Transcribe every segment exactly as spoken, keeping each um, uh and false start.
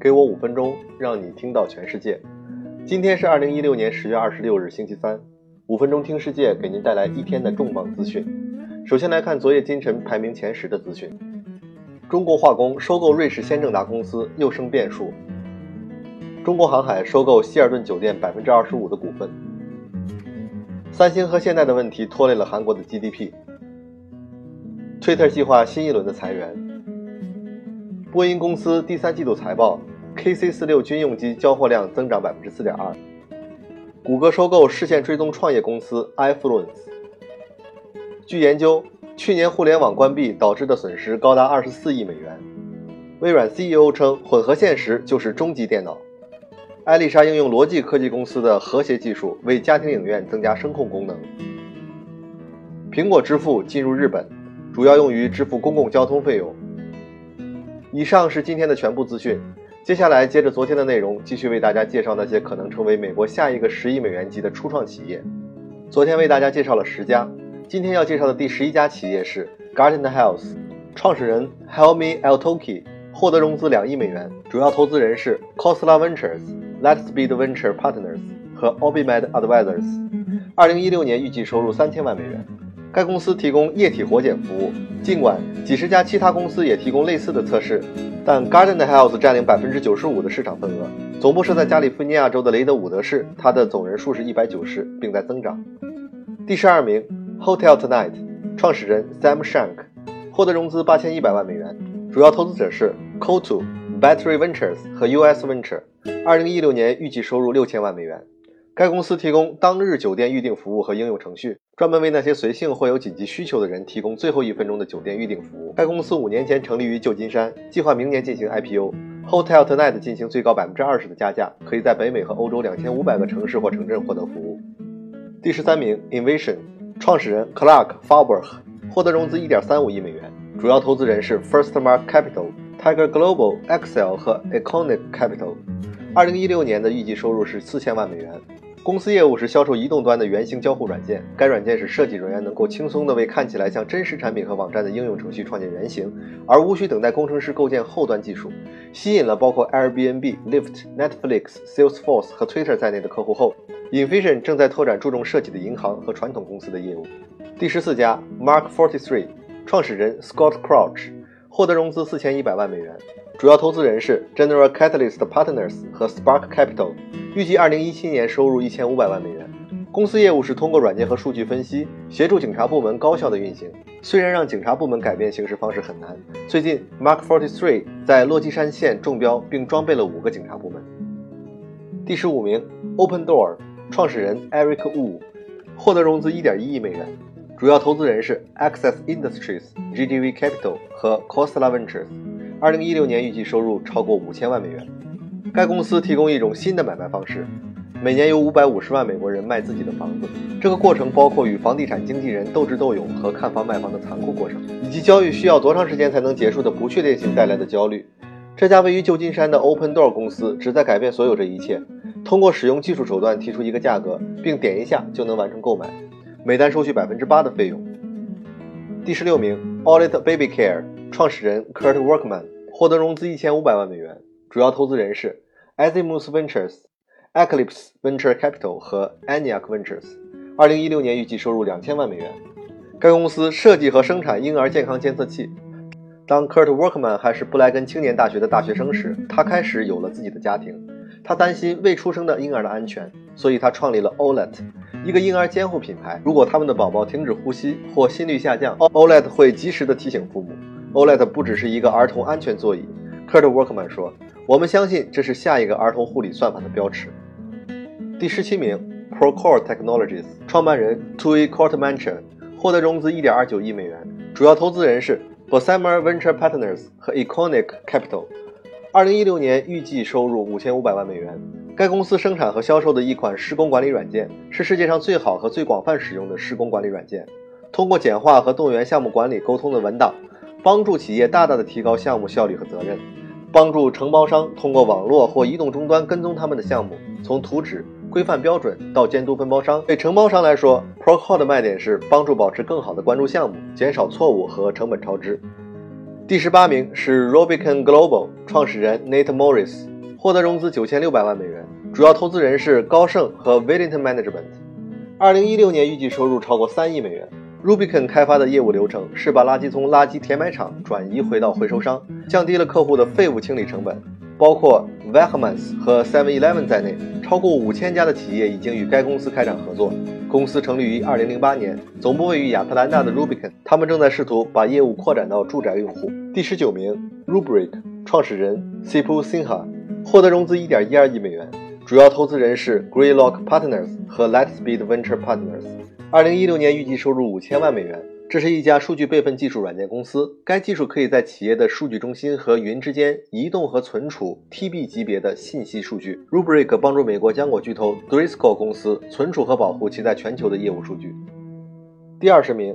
给我五分钟，让你听到全世界。今天是二零一六年十月二十六日星期三，五分钟听世界给您带来一天的重磅资讯。首先来看昨夜今晨排名前十的资讯。中国化工收购瑞士先正达公司又生变数。中国航海收购希尔顿酒店 百分之二十五 的股份。三星和现代的问题拖累了韩国的 G D P。Twitter 计划新一轮的裁员。波音公司第三季度财报 K C 四十六 军用机交货量增长 百分之四点二。 谷歌收购视线追踪创业公司 iFluence。 据研究，去年互联网关闭导致的损失高达二十四亿美元。微软 C E O 称混合现实就是终极电脑。艾丽莎应用逻辑科技公司的和谐技术为家庭影院增加声控功能。苹果支付进入日本，主要用于支付公共交通费用。以上是今天的全部资讯，接下来接着昨天的内容，继续为大家介绍那些可能成为美国下一个十亿美元级的初创企业。昨天为大家介绍了十家，今天要介绍的第十一家企业是 Guardant Health， 创始人 Helmy Eltoukhy 获得融资两亿美元，主要投资人是 Khosla Ventures、Lightspeed Venture Partners 和 OrbiMed Advisors。 二零一六年预计收入三千万美元。该公司提供液体活检服务，尽管几十家其他公司也提供类似的测试，但 Guardant Health 占领 百分之九十五 的市场份额。总部设在加利福尼亚州的雷德伍德市，它的总人数是一百九十，并在增长。第十二名 Hotel Tonight， 创始人 Sam Shank 获得融资八千一百万美元，主要投资者是 C O two Battery Ventures 和 U S Venture。 二零一六年预计收入六千万美元。该公司提供当日酒店预订服务和应用程序，专门为那些随性或有紧急需求的人提供最后一分钟的酒店预订服务。该公司五年前成立于旧金山，计划明年进行 I P O。 Hotel Tonight 进行最高 百分之二十 的加价，可以在北美和欧洲两千五百个城市或城镇获得服务。第十三名 Invision， 创始人 Clark Farberg 获得融资 一点三五亿美元，主要投资人是 Firstmark Capital、Tiger Global、Excel 和 Iconic Capital。 二零一六年的预计收入是四千万美元。公司业务是销售移动端的原型交互软件，该软件使设计人员能够轻松地为看起来像真实产品和网站的应用程序创建原型，而无需等待工程师构建后端技术。吸引了包括 Airbnb、Lyft、Netflix、Salesforce 和 Twitter 在内的客户后， Invision 正在拓展注重设计的银行和传统公司的业务。第十四家 Mark 四十三， 创始人 Scott Crouch 获得融资四千一百万美元，主要投资人是 General Catalyst Partners 和 Spark Capital， 预计二零一七年收入一千五百万美元。公司业务是通过软件和数据分析，协助警察部门高效的运行。虽然让警察部门改变行事方式很难，最近 Mark 四十三在落基山县中标并装备了五个警察部门。第十五名 Open Door， 创始人 Eric Wu 获得融资 一点一亿美元，主要投资人是 Access Industries、G D V Capital 和 Khosla Ventures。二零一六年预计收入超过五千万美元。该公司提供一种新的买卖方式，每年有五百五十万美国人卖自己的房子，这个过程包括与房地产经纪人斗智斗勇和看房卖房的残酷过程，以及交易需要多长时间才能结束的不确定性带来的焦虑。这家位于旧金山的 Open Door 公司旨在改变所有这一切，通过使用技术手段提出一个价格，并点一下就能完成购买，每单收取 百分之八 的费用。第十六名 Audit Baby Care， 创始人 Kurt Workman 获得融资一千五百万美元，主要投资人是 Azimuth Ventures、Eclipse Venture Capital 和 Aniac Ventures。 二零一六年预计收入两千万美元。该公司设计和生产婴儿健康监测器。当 Kurt Workman 还是布莱根青年大学的大学生时，他开始有了自己的家庭。他担心未出生的婴儿的安全，所以他创立了 O L E T， 一个婴儿监护品牌。如果他们的宝宝停止呼吸或心率下降， O L E T 会及时的提醒父母。 O L E T 不只是一个儿童安全座椅， Kurt Workman 说，我们相信这是下一个儿童护理算法的标尺。第十七名 Procore Technologies， 创办人 Tui Courtemanche 获得融资 一点二九亿美元，主要投资人是 Bessemer Venture Partners 和 Iconic Capital。 二零一六年预计收入五千五百万美元。该公司生产和销售的一款施工管理软件，是世界上最好和最广泛使用的施工管理软件，通过简化和动员项目管理沟通的文档，帮助企业大大的提高项目效率和责任，帮助承包商通过网络或移动终端跟踪他们的项目，从图纸、规范标准到监督分包商。对承包商来说， Procore 的卖点是帮助保持更好的关注项目，减少错误和成本超支。第十八名是 Rubicon Global， 创始人 Nate Morris 获得融资九千六百万美元，主要投资人是高盛和 Wellington Management。二零一六年预计收入超过三亿美元。Rubicon 开发的业务流程是把垃圾从垃圾填埋场转移回到回收商，降低了客户的废物清理成本。包括 Wegmans 和 seven eleven 在内，超过五千家的企业已经与该公司开展合作。公司成立于二零零八年，总部位于亚特兰大的 Rubicon， 他们正在试图把业务扩展到住宅用户。第十九名 Rubrik 创始人 Sipul Sinha 获得融资 一点一二亿美元，主要投资人是 Greylock Partners 和 Lightspeed Venture Partners。二零一六年预计收入五千万美元。这是一家数据备份技术软件公司，该技术可以在企业的数据中心和云之间移动和存储 T B 级别的信息数据。Rubrik 帮助美国浆果巨头 Driscoll 公司存储和保护其在全球的业务数据。第二十名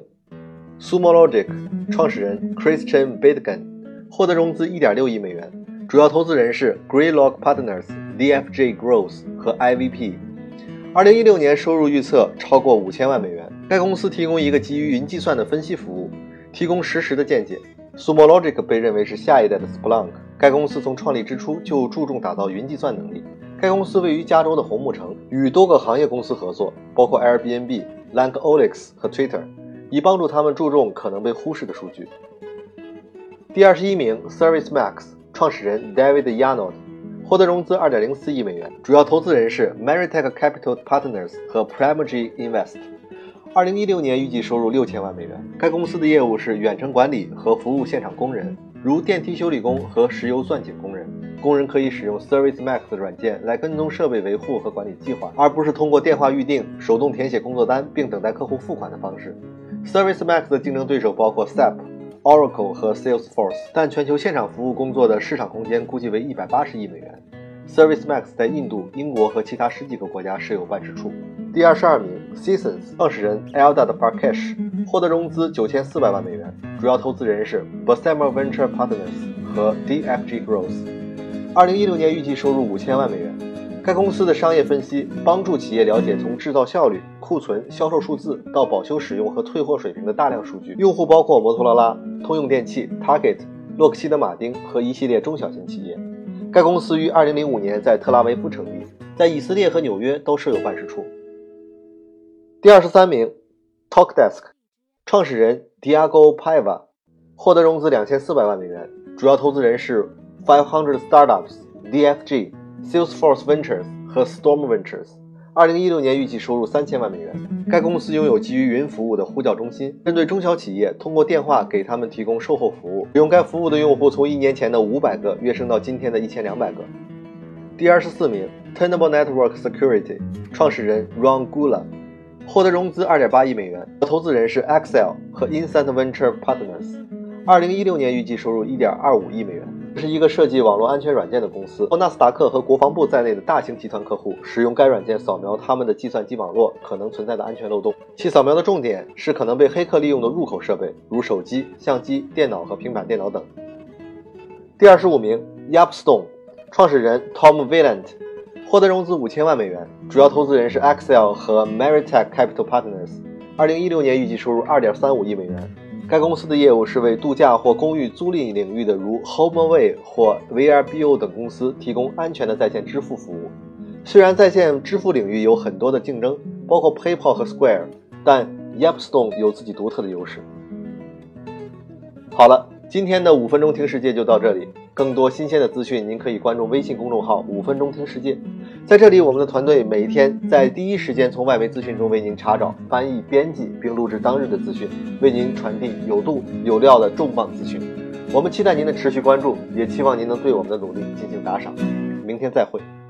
Sumo Logic 创始人 Christian Bidgan 获得融资 一点六亿美元，主要投资人是 Greylock Partners、D F J Growth 和 I V P。二零一六年收入预测超过五千万美元。该公司提供一个基于云计算的分析服务，提供实时的见解。Sumo Logic 被认为是下一代的 Splunk。该公司从创立之初就注重打造云计算能力。该公司位于加州的红木城，与多个行业公司合作，包括 Airbnb、Lankolix 和 Twitter， 以帮助他们注重可能被忽视的数据。第二十一名 ServiceMax 创始人 David Yarnold获得融资 二点零四亿美元，主要投资人是 Meritech Capital Partners 和 Primergy Invest。二零一六年预计收入六千万美元。该公司的业务是远程管理和服务现场工人，如电梯修理工和石油钻井工人。工人可以使用 ServiceMax 的软件来跟踪设备维护和管理计划，而不是通过电话预订、手动填写工作单并等待客户付款的方式。ServiceMax 的竞争对手包括 S A P、Oracle 和 Salesforce， 但全球现场服务工作的市场空间估计为一百八十亿美元。ServiceMax 在印度、英国和其他十几个国家设有办事处。第二十二名 Seasons 创始人 Eldad Parkesh 获得融资九千四百万美元，主要投资人是 Bessemer Venture Partners 和 D F G Growth。二零一六年预计收入五千万美元。该公司的商业分析帮助企业了解从制造效率、库存、销售数字到保修使用和退货水平的大量数据。用户包括摩托罗拉、通用电气、Target、洛克希德马丁和一系列中小型企业。该公司于二零零五年在特拉维夫成立，在以色列和纽约都设有办事处。第二十三名 Talkdesk 创始人 Diego Paiva 获得融资两千四百万美元，主要投资人是五百 Startups、D F G、Salesforce Ventures 和 Storm Ventures。二零一六年预计收入三千万美元。该公司拥有基于云服务的呼叫中心，针对中小企业通过电话给他们提供售后服务。使用该服务的用户从一年前的五百个跃升到今天的一千两百个。第二十四名 Tenable Network Security 创始人 Ron Gula 获得融资 二点八亿美元，投资人是 Accel 和 Instant Venture Partners。二零一六年预计收入 一点二五亿美元。这是一个设计网络安全软件的公司，纳斯达克和国防部在内的大型集团客户使用该软件扫描他们的计算机网络可能存在的安全漏洞。其扫描的重点是可能被黑客利用的入口设备，如手机、相机、电脑和平板电脑等。第二十五名 Yapstone 创始人 Tom Vaillant 获得融资五千万美元，主要投资人是 Accel 和 Meritech Capital Partners。二零一六年预计收入 二点三五亿美元。该公司的业务是为度假或公寓租赁领域的如 HomeAway 或 V R B O 等公司提供安全的在线支付服务。虽然在线支付领域有很多的竞争，包括 PayPal 和 Square， 但 Yapstone 有自己独特的优势。好了，今天的五分钟听世界就到这里。更多新鲜的资讯，您可以关注微信公众号五分钟听世界。在这里，我们的团队每天在第一时间从外媒资讯中为您查找、翻译、编辑并录制当日的资讯，为您传递有度有料的重磅资讯。我们期待您的持续关注，也期望您能对我们的努力进行打赏。明天再会。